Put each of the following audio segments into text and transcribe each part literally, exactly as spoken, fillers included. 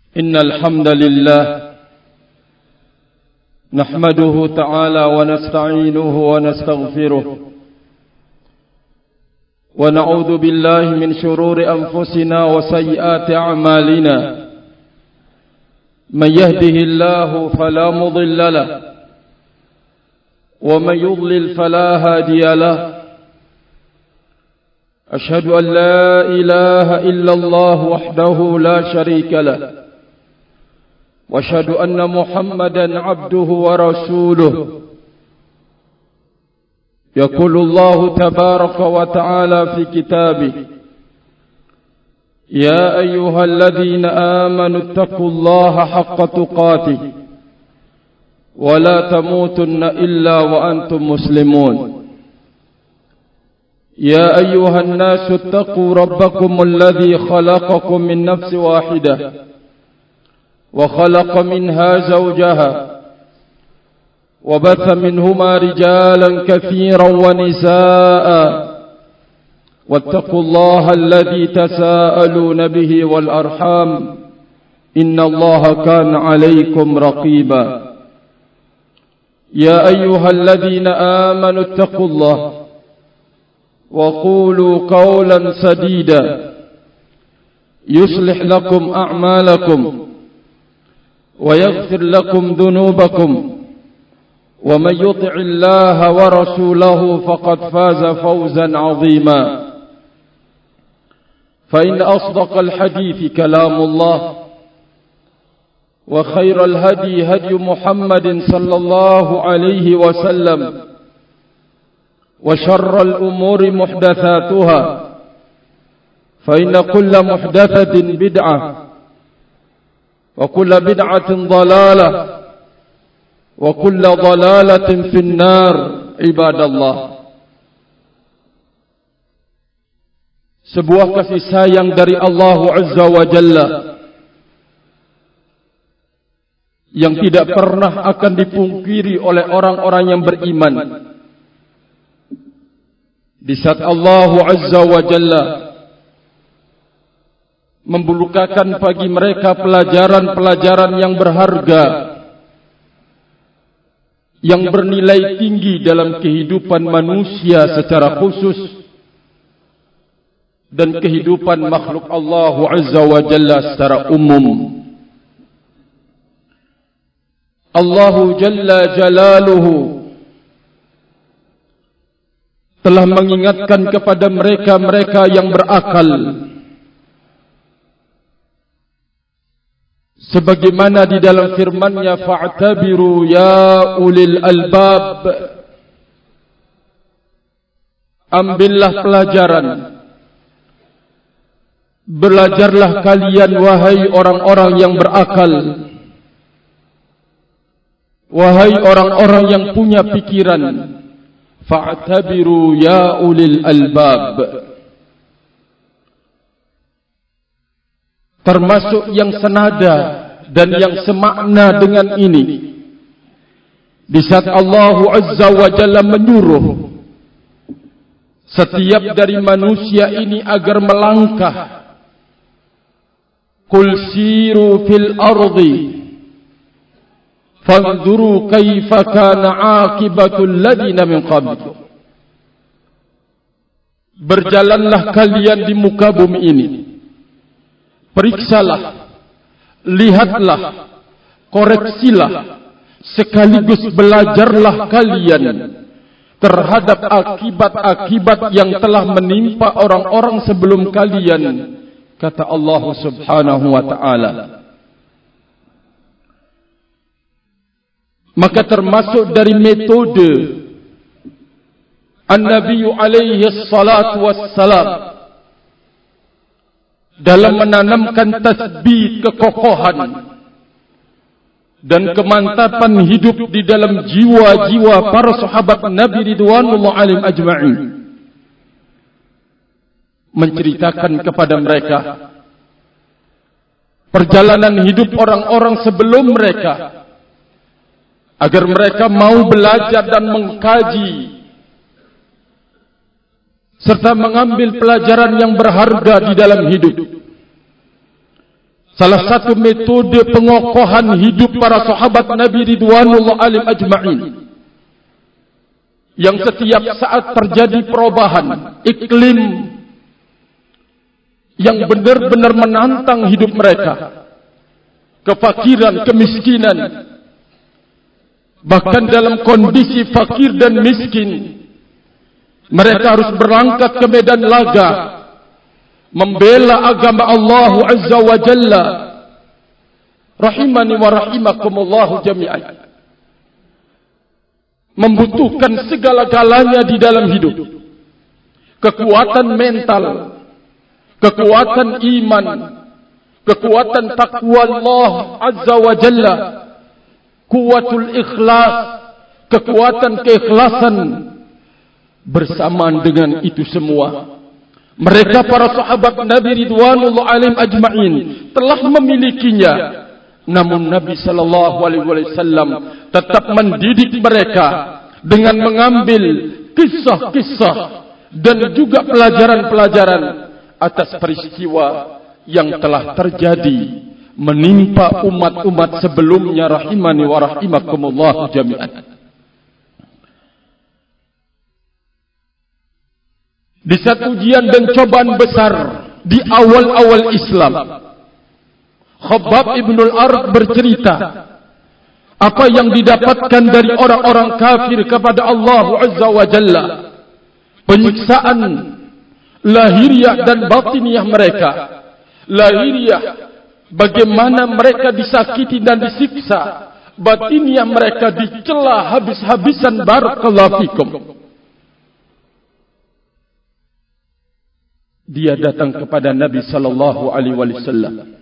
إن الحمد لله نحمده تعالى ونستعينه ونستغفره ونعوذ بالله من شرور أنفسنا وسيئات أعمالنا من يهده الله فلا مضل له ومن يضلل فلا هادي له أشهد أن لا إله إلا الله وحده لا شريك له وأشهد أن محمدا عبده ورسوله يقول الله تبارك وتعالى في كتابه يا أيها الذين آمنوا اتقوا الله حق تقاته ولا تموتن إلا وأنتم مسلمون يا أيها الناس اتقوا ربكم الذي خلقكم من نفس واحدة وخلق منها زوجها وبث منهما رجالا كثيرا ونساء واتقوا الله الذي تساءلون به والأرحام إن الله كان عليكم رقيبا يا أيها الذين آمنوا اتقوا الله وقولوا قولا سديدا يصلح لكم أعمالكم ويغفر لكم ذنوبكم ومن يطع الله ورسوله فقد فاز فوزا عظيما فإن أصدق الحديث كلام الله وخير الهدي هدي محمد صلى الله عليه وسلم وشر الأمور محدثاتها فإن كل محدثة بدعة وكل بدعة ضلالة وكل ضلالة في النار عباد الله. Sebuah kasih sayang dari Allah Azza wa Jalla yang tidak pernah akan dipungkiri oleh orang-orang yang beriman. Di saat Allah Azza wa Jalla membukakan bagi mereka pelajaran-pelajaran yang berharga, yang bernilai tinggi dalam kehidupan manusia secara khusus dan kehidupan makhluk Allah Azza wa Jalla secara umum. Allah Jalla Jalaluhu telah mengingatkan kepada mereka-mereka yang berakal, sebagaimana di dalam firman-Nya, fa'tabiru ya ulil albab, ambillah pelajaran, belajarlah kalian wahai orang-orang yang berakal, wahai orang-orang yang punya pikiran. Fa'tabiru ya ulil albab, termasuk yang senada dan yang semakna dengan ini. Di saat Allah Azza wa Jalla menyuruh setiap dari manusia ini agar melangkah, qul siru fil ardi fanzuru kaifa kana aqibatul ladina min qabl. Berjalanlah kalian di muka bumi ini, periksalah, lihatlah, koreksilah, sekaligus belajarlah kalian terhadap akibat-akibat yang telah menimpa orang-orang sebelum kalian, kata Allah Subhanahu wa ta'ala. Maka termasuk dari metode An-Nabi alaihi salatu wassalam dalam menanamkan tasbih, kekokohan dan kemantapan hidup di dalam jiwa-jiwa para sahabat Nabi ridwanullah alaihim ajma'in, menceritakan kepada mereka perjalanan hidup orang-orang sebelum mereka, agar mereka mau belajar dan mengkaji serta mengambil pelajaran yang berharga di dalam hidup. salah satu metode pengokohan hidup para sahabat Nabi ridwanullah alaihim ajma'in, yang setiap saat terjadi perubahan iklim yang benar-benar menantang hidup mereka, kefakiran, kemiskinan, bahkan dalam kondisi fakir dan miskin, mereka harus berangkat ke medan laga, membela agama Allah Azza wa Jalla. Rahimani wa rahimakumullah jami'an. Membutuhkan segala-galanya di dalam hidup. Kekuatan mental, kekuatan iman, kekuatan takwa Allah Azza wa Jalla, kuatul ikhlas, kekuatan keikhlasan. Bersamaan dengan itu semua, mereka para sahabat Nabi ridwanullah alaihim ajma'in telah memilikinya. Namun Nabi sallallahu alaihi wasallam tetap mendidik mereka dengan mengambil kisah-kisah dan juga pelajaran-pelajaran atas peristiwa yang telah terjadi menimpa umat-umat sebelumnya. Rahimani wa rahimakumullah jami'an. Di saat ujian dan cobaan besar di awal-awal Islam, Khabbab ibn al-Arad bercerita apa yang didapatkan dari orang-orang kafir kepada Allah Azza wa Jalla, penyiksaan lahiriah dan batiniah mereka. Lahiriah, bagaimana mereka disakiti dan disiksa. Batiniah, mereka dicela habis-habisan. Barakallahu fikum. Dia datang kepada Nabi sallallahu alaihi wasallam,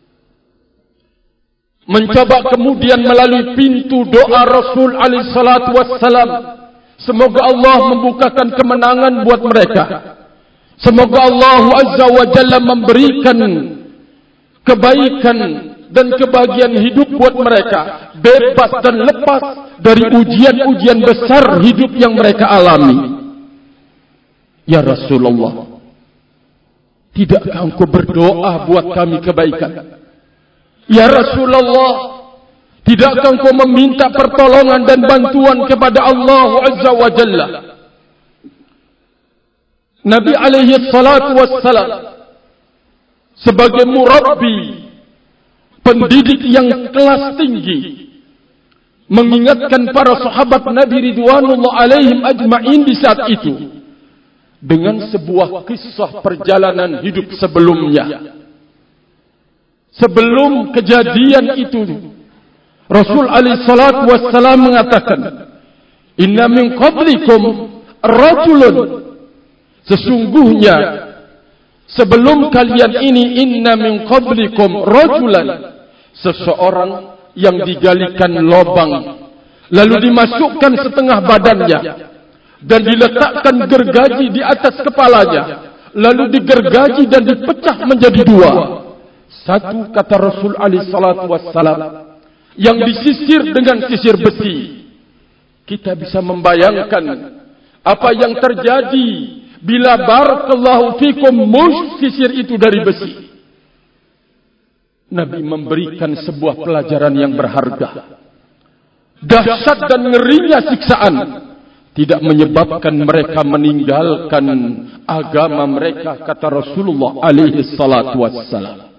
mencoba kemudian melalui pintu doa Rasul alaihi salatu wassalam, semoga Allah membukakan kemenangan buat mereka. Semoga Allah Azza wa Jalla memberikan kebaikan dan kebahagiaan hidup buat mereka, bebas dan lepas dari ujian-ujian besar hidup yang mereka alami. Ya Rasulullah, tidakkah engkau berdoa buat kami kebaikan? Ya Rasulullah, tidakkah engkau meminta pertolongan dan bantuan kepada Allah Azza wa Jalla? Nabi alaihi salatu wassalam sebagai murabbi, pendidik yang kelas tinggi, mengingatkan para sahabat Nabi ridwanullah alaihim ajma'in di saat itu dengan sebuah kisah perjalanan hidup sebelumnya. Sebelum kejadian itu, Rasul alaihi salatu wassalam mengatakan, inna min qablikum rajulun, sesungguhnya sebelum kalian ini, inna min qablikum rajulan, seseorang yang digalikan lubang lalu dimasukkan setengah badannya dan diletakkan gergaji di atas kepalanya, lalu digergaji dan dipecah menjadi dua. Satu, kata Rasul alaihi salatu wassalam, yang disisir dengan sisir besi. Kita bisa membayangkan apa yang terjadi bila barakallahu fikum mus sisir itu dari besi. Nabi memberikan sebuah pelajaran yang berharga. Dahsyat dan ngerinya siksaan tidak menyebabkan mereka meninggalkan agama mereka, kata Rasulullah alaihi salatu wassalam.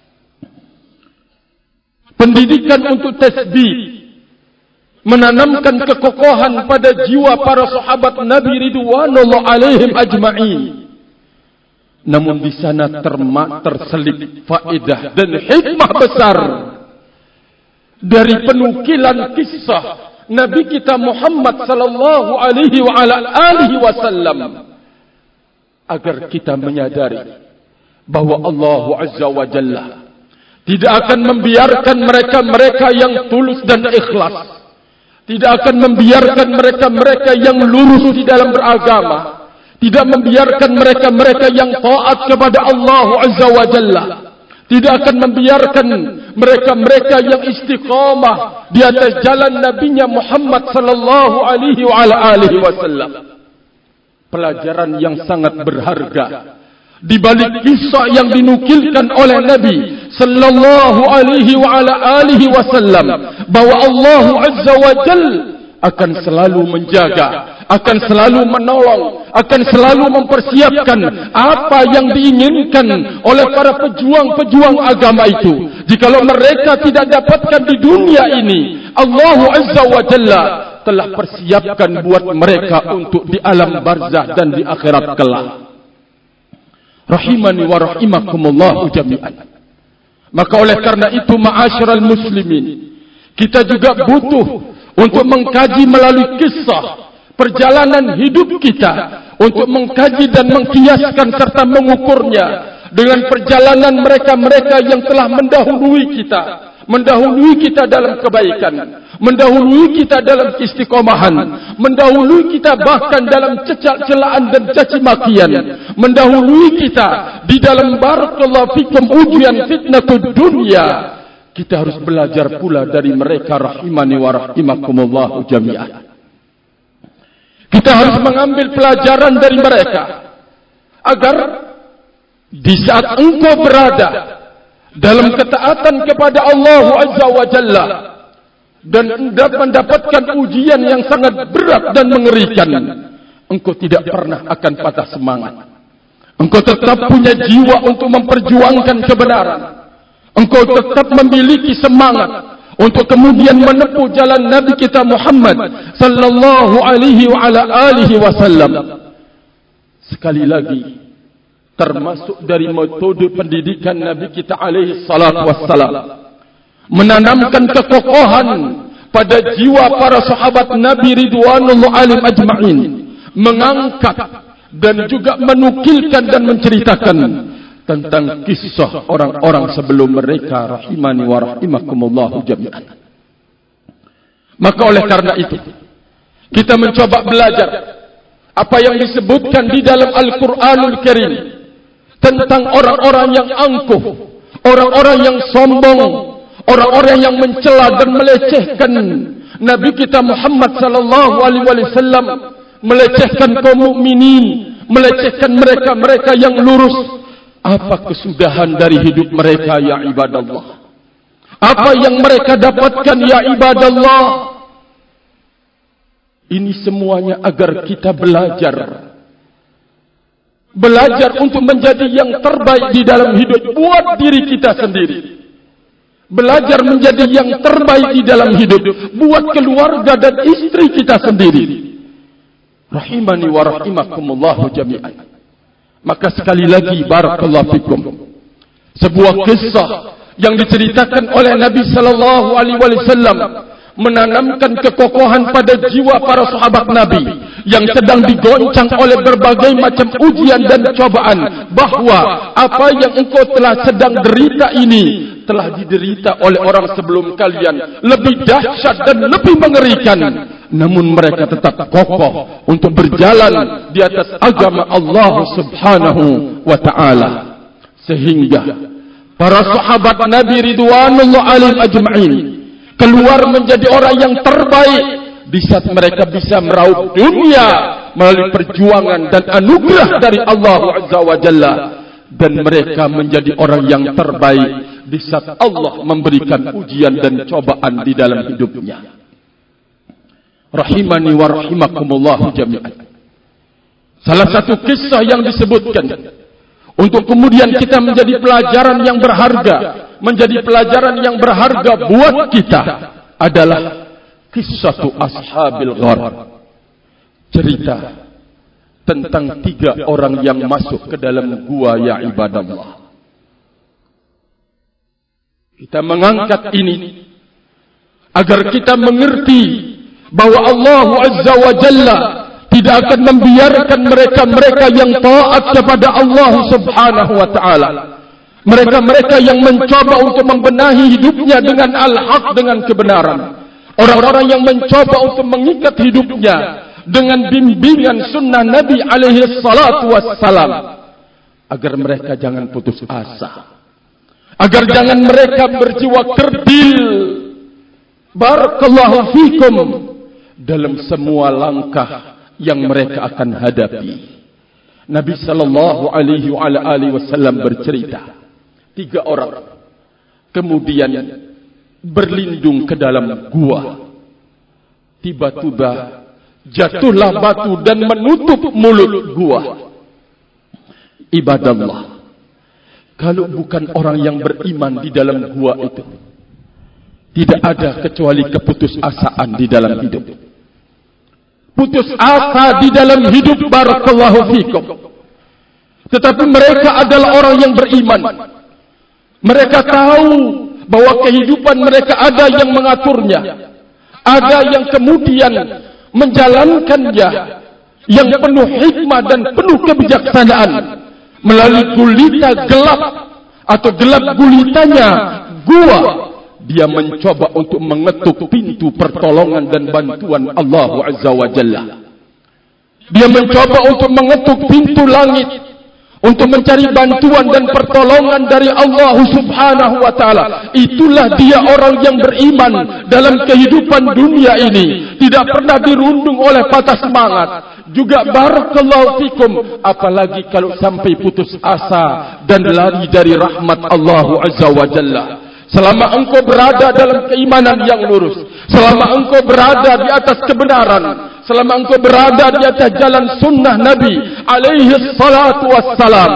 Pendidikan untuk tasbih, menanamkan kekokohan pada jiwa para sahabat Nabi ridwanullah alaihim ajma'in. Namun di sana termak terselip faedah dan hikmah besar dari penukilan kisah Nabi kita Muhammad sallallahu alaihi wa ala alihi wasallam, agar kita menyadari bahwa Allah Azza wa Jalla tidak akan membiarkan mereka-mereka yang tulus dan ikhlas, tidak akan membiarkan mereka-mereka yang lurus di dalam beragama, tidak membiarkan mereka-mereka yang taat kepada Allah Azza wa Jalla, tidak akan membiarkan mereka-mereka yang istiqamah di atas jalan Nabinya Muhammad sallallahu alaihi wa ala alihi wasallam. Pelajaran yang sangat berharga di balik kisah yang dinukilkan oleh Nabi sallallahu alaihi wa ala alihi wasallam bahwa Allah Azza wa Jalla akan selalu menjaga, akan selalu menolong, akan selalu mempersiapkan apa yang diinginkan oleh para pejuang-pejuang agama itu. Jikalau mereka tidak dapatkan di dunia ini, Allah Azza wa Jalla telah persiapkan buat mereka untuk di alam barzah dan di akhirat kelak. Rahimani wa rahimakumullah jami'an. Maka oleh karena itu, ma'asyiral muslimin, kita juga butuh untuk mengkaji melalui kisah perjalanan hidup kita, untuk mengkaji dan mengkiaskan serta mengukurnya dengan perjalanan mereka-mereka yang telah mendahului kita, mendahului kita dalam kebaikan, mendahului kita dalam istiqomahan, mendahului kita bahkan dalam celaan dan caci makian, mendahului kita di dalam barakallahu fikum ujian fitnatud dunia. Kita harus belajar pula dari mereka, rahimani wa rahimakumullah jami'an. Kita harus mengambil pelajaran dari mereka agar di saat engkau berada dalam ketaatan kepada Allah Azza wa Jalla dan mendapatkan ujian yang sangat berat dan mengerikan, engkau tidak pernah akan patah semangat. Engkau tetap punya jiwa untuk memperjuangkan kebenaran. Engkau tetap memiliki semangat untuk kemudian menempuh jalan Nabi kita Muhammad sallallahu alaihi wa ala alihi wasallam. Sekali lagi, termasuk dari metode pendidikan Nabi kita alaihi salatu wassalam, menanamkan kekokohan pada jiwa para sahabat Nabi ridwanullah alaihim ajma'in, mengangkat dan juga menukilkan dan menceritakan tentang kisah orang-orang sebelum mereka, rahimani wa rahimakumullah jami'an. Maka oleh karena itu, kita mencoba belajar apa yang disebutkan di dalam Al-Quranul Karim tentang orang-orang yang angkuh, orang-orang yang sombong, orang-orang yang mencela dan melecehkan Nabi kita Muhammad sallallahu alaihi wasallam, melecehkan kaum mukminin, melecehkan mereka-mereka yang lurus. Apa kesudahan dari hidup mereka, ya ibadallah? Apa yang mereka dapatkan, ya ibadallah? Ini semuanya agar kita belajar. Belajar untuk menjadi yang terbaik di dalam hidup buat diri kita sendiri. Belajar menjadi yang terbaik di dalam hidup buat keluarga dan istri kita sendiri. Rahimani wa rahimakumullahu jami'an. Maka sekali lagi, barakallahu fikum, sebuah kisah yang diceritakan oleh Nabi sallallahu alaihi wasallam menanamkan kekokohan pada jiwa para sahabat Nabi yang sedang digoncang oleh berbagai macam ujian dan cobaan, bahwa apa yang engkau telah sedang derita ini telah diderita oleh orang sebelum kalian, lebih dahsyat dan lebih mengerikan. Namun mereka tetap kokoh untuk berjalan di atas agama Allah Subhanahu wa ta'ala, sehingga para sahabat Nabi ridwanullah alaihim ajma'in keluar menjadi orang yang terbaik di saat mereka bisa meraup dunia melalui perjuangan dan anugerah dari Allah Azza wa Jalla, dan mereka menjadi orang yang terbaik di saat Allah memberikan ujian dan cobaan di dalam hidupnya. Rahimani wa rahimakumullah jami'an. Salah satu kisah yang disebutkan untuk kemudian kita menjadi pelajaran yang berharga, menjadi pelajaran yang berharga buat kita adalah kisah ashabil ghar. Cerita tentang tiga orang yang masuk ke dalam gua, ya ibadallah. Kita mengangkat ini agar kita mengerti bahwa Allah Azza wa Jalla tidak akan membiarkan mereka-mereka yang taat kepada Allah Subhanahu wa ta'ala, mereka-mereka yang mencoba untuk membenahi hidupnya dengan al-haq, dengan kebenaran, orang-orang yang mencoba untuk mengikat hidupnya dengan bimbingan sunnah Nabi alaihi salatu wassalam, agar mereka jangan putus asa, agar jangan mereka berjiwa kerdil, barakallahu fikum, dalam semua langkah yang mereka akan hadapi. Nabi sallallahu alaihi wasallam bercerita, tiga orang kemudian berlindung ke dalam gua. Tiba-tiba jatuhlah batu dan menutup mulut gua. Ibadallah, kalau bukan orang yang beriman di dalam gua itu, tidak ada kecuali keputusasaan di dalam hidup. Putus asa di dalam hidup, barakallahu fikum. Tetapi mereka adalah orang yang beriman. Mereka tahu bahwa kehidupan mereka ada yang mengaturnya, ada yang kemudian menjalankannya, yang penuh hikmah dan penuh kebijaksanaan. Melalui gulita gelap atau gelap gulitanya gua, dia mencoba untuk mengetuk pintu pertolongan dan bantuan Allah Azza wa Jalla. Dia mencoba untuk mengetuk pintu langit untuk mencari bantuan dan pertolongan dari Allah Subhanahu wa taala. Itulah dia orang yang beriman dalam kehidupan dunia ini, tidak pernah dirundung oleh patah semangat. Juga barakallahu fikum, apalagi kalau sampai putus asa dan lari dari rahmat Allah Azza wa Jalla. Selama engkau berada dalam keimanan yang lurus, selama engkau berada di atas kebenaran, selama engkau berada di atas jalan sunnah Nabi alaihi salatu wassalam,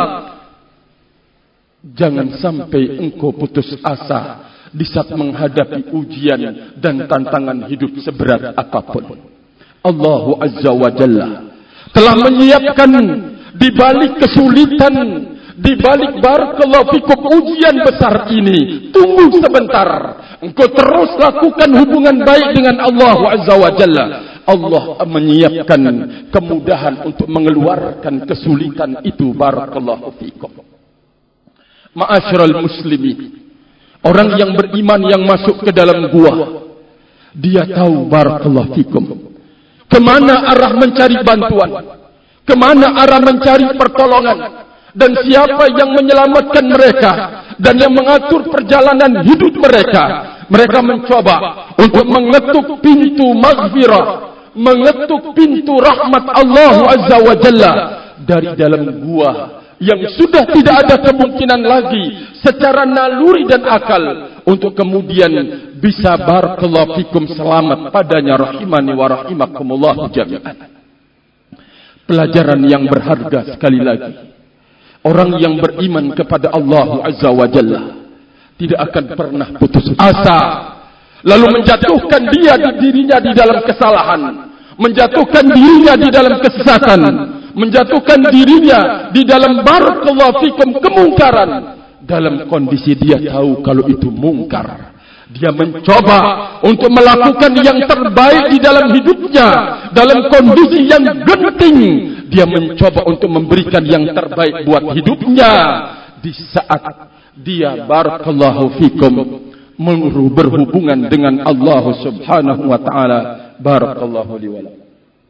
jangan sampai engkau putus asa di saat menghadapi ujian dan tantangan hidup seberat apapun. Allah Azza wa Jalla telah menyiapkan di balik kesulitan, di balik barakallahu fikum ujian besar ini. Tunggu sebentar, engkau terus lakukan hubungan baik dengan Allah Azza wa Jalla. Allah menyiapkan kemudahan untuk mengeluarkan kesulitan itu, barakallahu fikum. Ma'asyiral muslimin, orang yang beriman yang masuk ke dalam gua, dia tahu barakallahu fikum kemana arah mencari bantuan, kemana arah mencari pertolongan, dan siapa yang menyelamatkan mereka dan yang mengatur perjalanan hidup mereka. Mereka mencoba untuk mengetuk pintu maghfirah, mengetuk pintu rahmat Allah Azza wa Jalla dari dalam gua yang sudah tidak ada kemungkinan lagi secara naluri dan akal untuk kemudian bisa barakallahu fikum selamat padanya, rahimani wa rahimakumullah jami'an. Pelajaran yang berharga sekali lagi, orang yang beriman kepada Allah Azza wa Jalla tidak akan pernah putus asa, lalu menjatuhkan dia di dirinya di dalam kesalahan, menjatuhkan dirinya di dalam kesesatan, menjatuhkan dirinya di dalam barakallahu fikum kemungkaran, dalam kondisi dia tahu kalau itu mungkar. Dia mencoba untuk melakukan yang terbaik di dalam hidupnya, dalam kondisi yang genting. Dia mencoba untuk memberikan yang terbaik buat hidupnya di saat dia barakallahu fikum berhubungan dengan Allah Subhanahu wa taala. Barakallahu li wa lakum.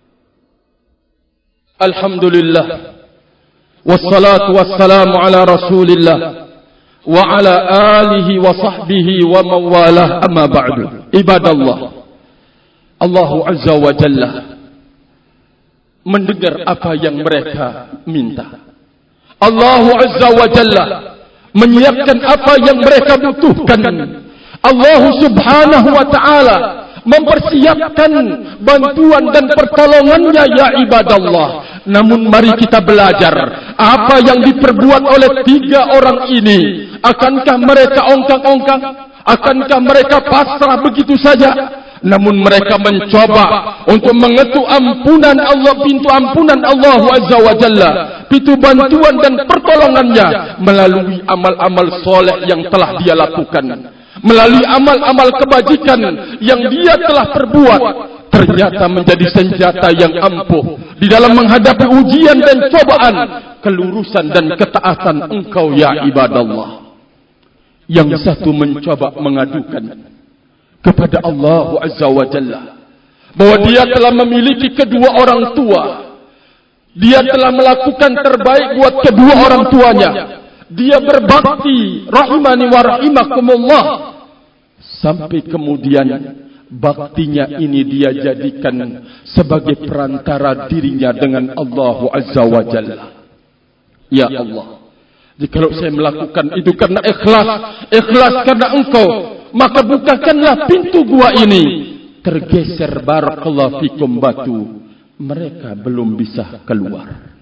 Alhamdulillah, wassalatu wassalamu ala Rasulillah wa ala alihi wa sahbihi wa mawalah, amma ba'du. Ibadallah, Allah Azza wa Jalla mendengar apa yang mereka minta. Allah Azza wa Jalla menyiapkan apa yang mereka butuhkan. Allah Subhanahu wa ta'ala mempersiapkan bantuan dan pertolongannya, ya ibadallah. Namun mari kita belajar apa yang diperbuat oleh tiga orang ini. Akankah mereka ongkang-ongkang? Akankah mereka pasrah begitu saja? Namun mereka mencoba untuk mengetuk ampunan Allah, pintu ampunan Allah Azza wa Jalla, pintu bantuan dan pertolongannya melalui amal-amal soleh yang telah dia lakukan, melalui amal-amal kebajikan yang dia telah perbuat. Ternyata menjadi senjata yang ampuh di dalam menghadapi ujian dan cobaan, kelurusan dan ketaatan engkau, ya ibadallah. Yang satu mencoba mengadukan kepada Allah Azza wa Jalla bahwa dia telah memiliki kedua orang tua, dia telah melakukan terbaik buat kedua orang tuanya, dia berbakti, rahimani wa rahimakumullah, sampai kemudian baktinya ini dia jadikan sebagai perantara dirinya dengan Allah Azza wa Jalla. Ya Allah, Jikalau saya melakukan itu karena ikhlas, ikhlas karena engkau, maka bukakanlah pintu gua ini. Tergeser barakallahu fikum batu, mereka belum bisa keluar.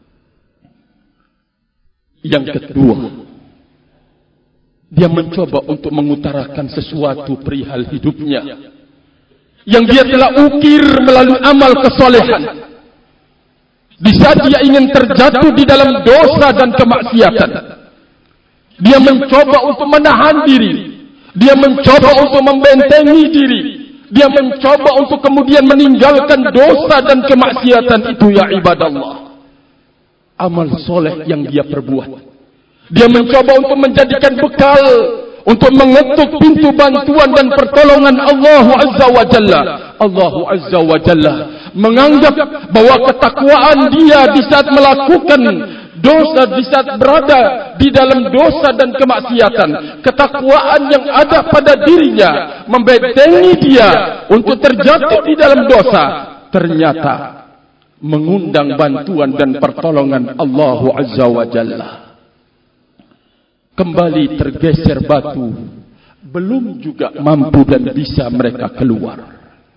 Yang kedua, dia mencoba untuk mengutarakan sesuatu perihal hidupnya yang dia telah ukir melalui amal kesolehan. Di saat dia ingin terjatuh di dalam dosa dan kemaksiatan, dia mencoba untuk menahan diri, dia mencoba untuk membentengi diri, dia mencoba untuk kemudian meninggalkan dosa dan kemaksiatan itu. Ya ibadallah, amal soleh yang dia perbuat, dia mencoba untuk menjadikan bekal untuk mengetuk pintu bantuan dan pertolongan Allah Azza wa Jalla. Allah Azza wa Jalla menganggap bahwa ketakwaan dia di saat melakukan dosa, di saat berada di dalam dosa dan kemaksiatan, ketakwaan yang ada pada dirinya membentengi dia untuk terjatuh di dalam dosa, ternyata mengundang bantuan dan pertolongan Allah Azza wa Jalla. Kembali tergeser batu, belum juga mampu dan bisa mereka keluar.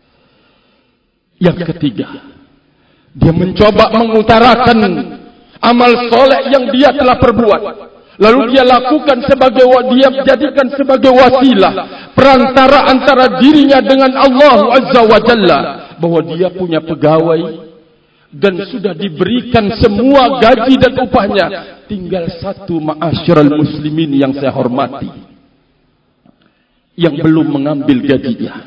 Yang ketiga, dia mencoba mengutarakan amal soleh yang dia telah perbuat, lalu dia lakukan sebagai, dia jadikan sebagai wasilah, perantara antara dirinya dengan Allah Azza wa Jalla, bahwa dia punya pegawai dan sudah diberikan semua gaji dan upahnya, tinggal satu ma'asyiral muslimin yang saya hormati yang belum mengambil gajinya.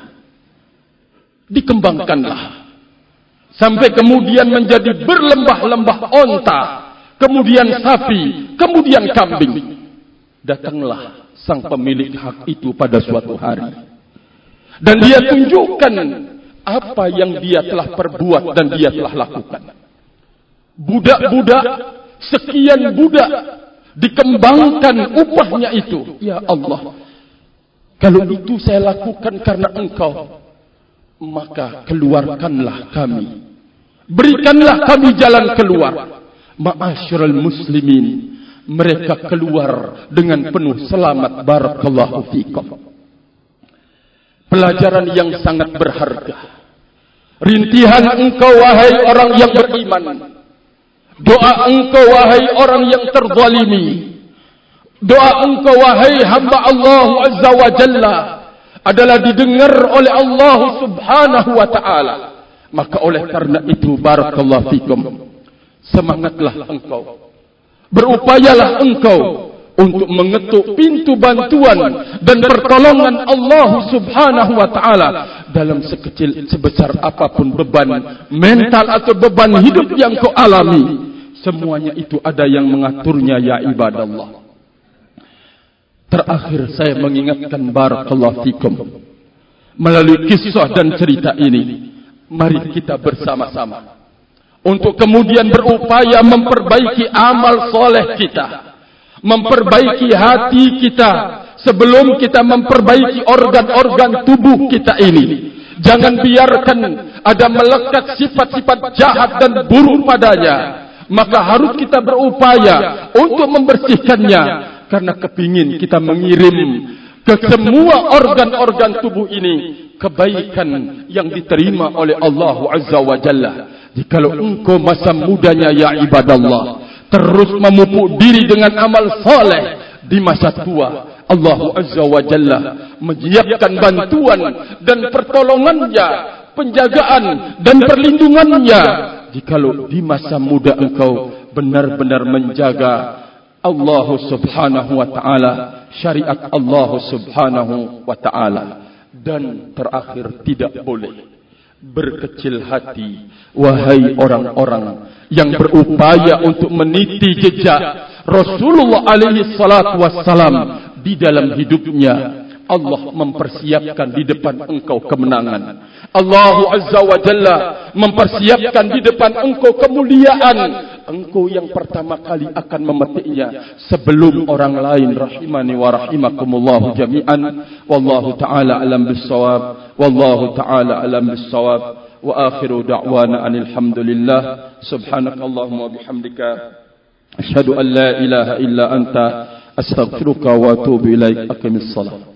Dikembangkanlah sampai kemudian menjadi berlembah-lembah onta, kemudian sapi, kemudian kambing. Datanglah sang pemilik hak itu pada suatu hari, dan dia tunjukkan apa yang dia telah perbuat dan dia telah lakukan. Budak-budak, sekian budak, dikembangkan upahnya itu. Ya Allah, kalau itu saya lakukan karena engkau, maka keluarkanlah kami, berikanlah kami jalan keluar. Ma'asyiral muslimin, mereka keluar dengan penuh selamat. Barakallahu fikum. Pelajaran yang sangat berharga, rintihan engkau wahai orang yang beriman, doa engkau wahai orang yang terzalimi, doa engkau wahai hamba Allah Azza wa Jalla adalah didengar oleh Allah Subhanahu wa ta'ala. Maka oleh karena itu, barakallahu fikum, semangatlah engkau, berupayalah engkau untuk mengetuk pintu bantuan dan pertolongan Allah Subhanahu wa ta'ala dalam sekecil sebesar apapun beban mental atau beban hidup yang kau alami. Semuanya itu ada yang mengaturnya, ya ibadallah. Terakhir saya mengingatkan, barakallahu fikum, melalui kisah dan cerita ini, mari kita bersama-sama untuk kemudian berupaya memperbaiki amal soleh kita, memperbaiki hati kita sebelum kita memperbaiki organ-organ tubuh kita ini. Jangan biarkan ada melekat sifat-sifat jahat dan buruk padanya. Maka harus kita berupaya untuk membersihkannya, karena kepingin kita mengirim ke semua organ-organ tubuh ini kebaikan yang diterima oleh Allah Azza wa Jalla. Jikalau engkau masa mudanya, ya ibadallah, terus memupuk diri dengan amal saleh, di masa tua Allah Azza wa Jalla menyiapkan bantuan dan pertolongannya, penjagaan dan perlindungannya. Jikalau di masa muda engkau benar-benar menjaga Allah Subhanahu wa ta'ala, syariat Allah Subhanahu wa ta'ala. Dan terakhir, tidak boleh berkecil hati, wahai orang-orang yang berupaya untuk meniti jejak Rasulullah alaihi salatu wassalam di dalam hidupnya. Allah mempersiapkan di depan engkau kemenangan. Allah Azza wa Jalla mempersiapkan di depan engkau kemuliaan. Engkau yang pertama kali akan memetiknya sebelum orang lain. Rahimani wa rahimakumullah jami'an. Wallahu ta'ala alam bissawab. Wallahu ta'ala alam bissawab. Wa akhiru da'wana anil hamdulillah. Subhanakallahumma bihamdika Asyhadu an la ilaha illa anta astaghfiruka wa atubu ilaik. Aqimis salat.